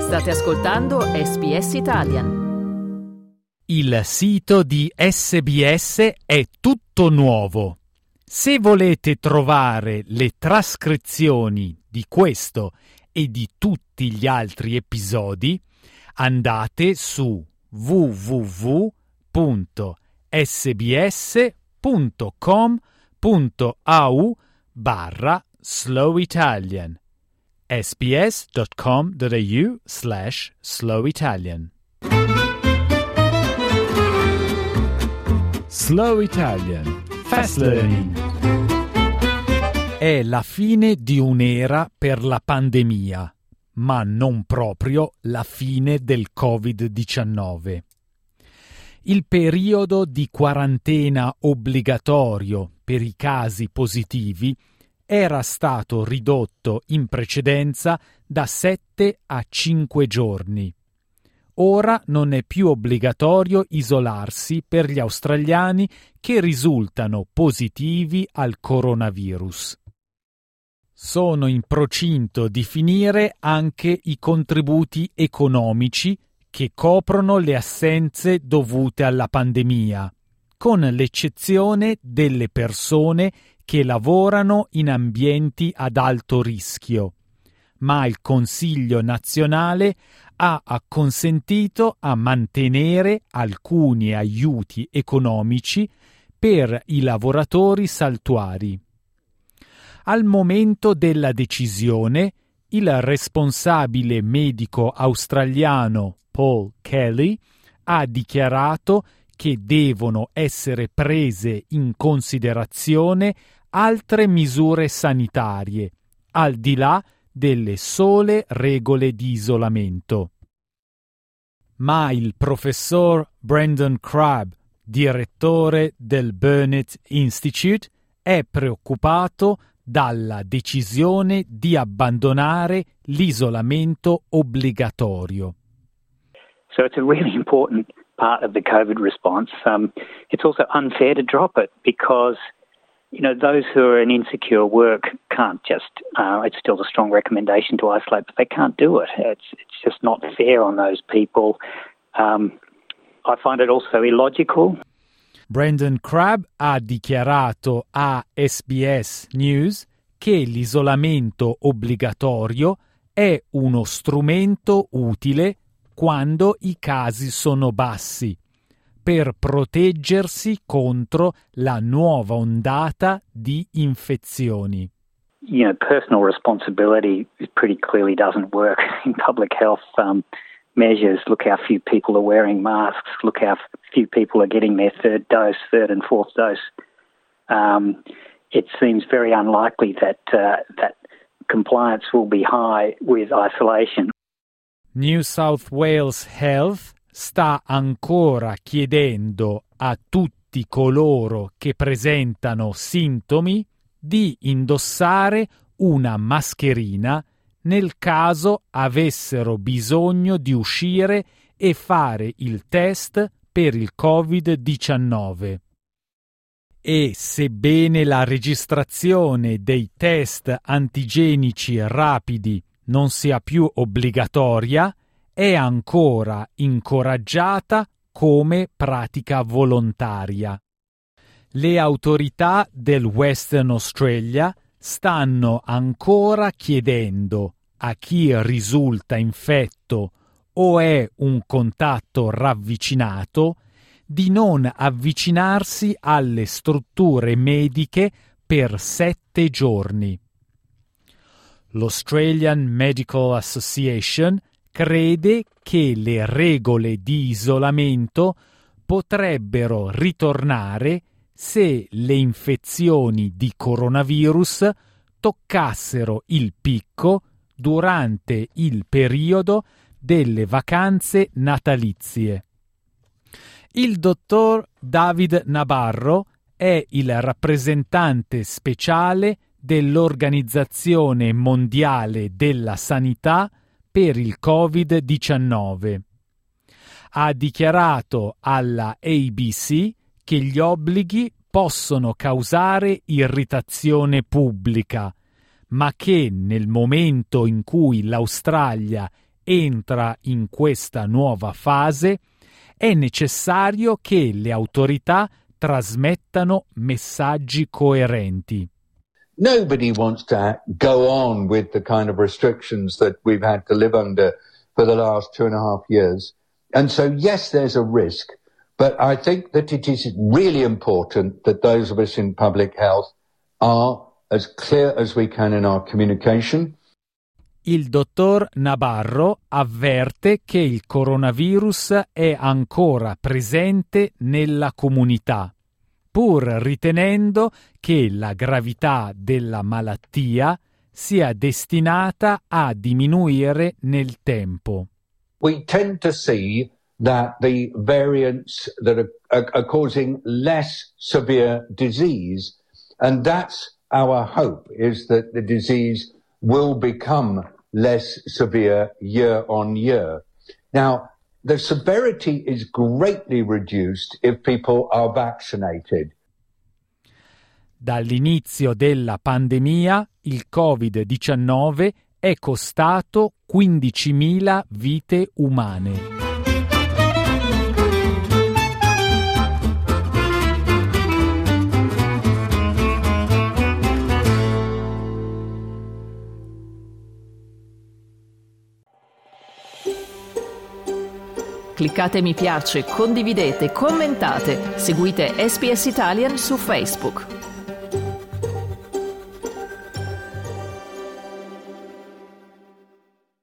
State ascoltando SBS Italian. Il sito di SBS è tutto nuovo. Se volete trovare le trascrizioni di questo e di tutti gli altri episodi, andate su www.sbs.com.au/slowitalian sbs.com.au/slowitalian. Slow Italian Fast Learning. È la fine di un'era per la pandemia, ma non proprio la fine del Covid-19. Il periodo di quarantena obbligatorio per i casi positivi era stato ridotto in precedenza da 7 a 5 giorni. Ora non è più obbligatorio isolarsi per gli australiani che risultano positivi al coronavirus. Sono in procinto di finire anche i contributi economici che coprono le assenze dovute alla pandemia, con l'eccezione delle persone che lavorano in ambienti ad alto rischio, ma il Consiglio nazionale ha acconsentito a mantenere alcuni aiuti economici per i lavoratori saltuari. Al momento della decisione, il responsabile medico australiano Paul Kelly ha dichiarato che devono essere prese in considerazione altre misure sanitarie, al di là delle sole regole di isolamento. Ma il professor Brendan Crabb, direttore del Burnet Institute, è preoccupato dalla decisione di abbandonare l'isolamento obbligatorio. So it's a really important part of the COVID response. It's also unfair to drop it because, you know, those who are in insecure work can't just, it's still a strong recommendation to isolate, but they can't do it. It's just not fair on those people. I find it also illogical. Brendan Crabb ha dichiarato a SBS News che l'isolamento obbligatorio è uno strumento utile quando i casi sono bassi, per proteggersi contro la nuova ondata di infezioni. You know, personal responsibility pretty clearly doesn't work in public health measures. Look how few people are wearing masks. Look how few people are getting their third and fourth dose. It seems very unlikely that compliance will be high with isolation. New South Wales Health sta ancora chiedendo a tutti coloro che presentano sintomi di indossare una mascherina nel caso avessero bisogno di uscire e fare il test per il Covid-19. E sebbene la registrazione dei test antigenici rapidi non sia più obbligatoria, è ancora incoraggiata come pratica volontaria. Le autorità del Western Australia stanno ancora chiedendo a chi risulta infetto o è un contatto ravvicinato di non avvicinarsi alle strutture mediche per 7 giorni. L'Australian Medical Association crede che le regole di isolamento potrebbero ritornare se le infezioni di coronavirus toccassero il picco durante il periodo delle vacanze natalizie. Il dottor David Nabarro è il rappresentante speciale dell'Organizzazione Mondiale della Sanità per il Covid-19. Ha dichiarato alla ABC che gli obblighi possono causare irritazione pubblica, ma che nel momento in cui l'Australia entra in questa nuova fase, è necessario che le autorità trasmettano messaggi coerenti. Nobody wants to go on with the kind of restrictions that we've had to live under for the last 2.5 years. And so, yes, there's a risk, but I think that it is really important that those of us in public health are as clear as we can in our communication. Il dottor Nabarro avverte che il coronavirus è ancora presente nella comunità, pur ritenendo che la gravità della malattia sia destinata a diminuire nel tempo. We tend to see that the variants that are causing less severe disease, and that's our hope, is that the disease will become less severe year on year. Now, the severity is greatly reduced if people are vaccinated. Dall'inizio della pandemia, il Covid-19 è costato 15.000 vite umane. Cliccate mi piace, condividete, commentate, seguite SPS Italian su Facebook.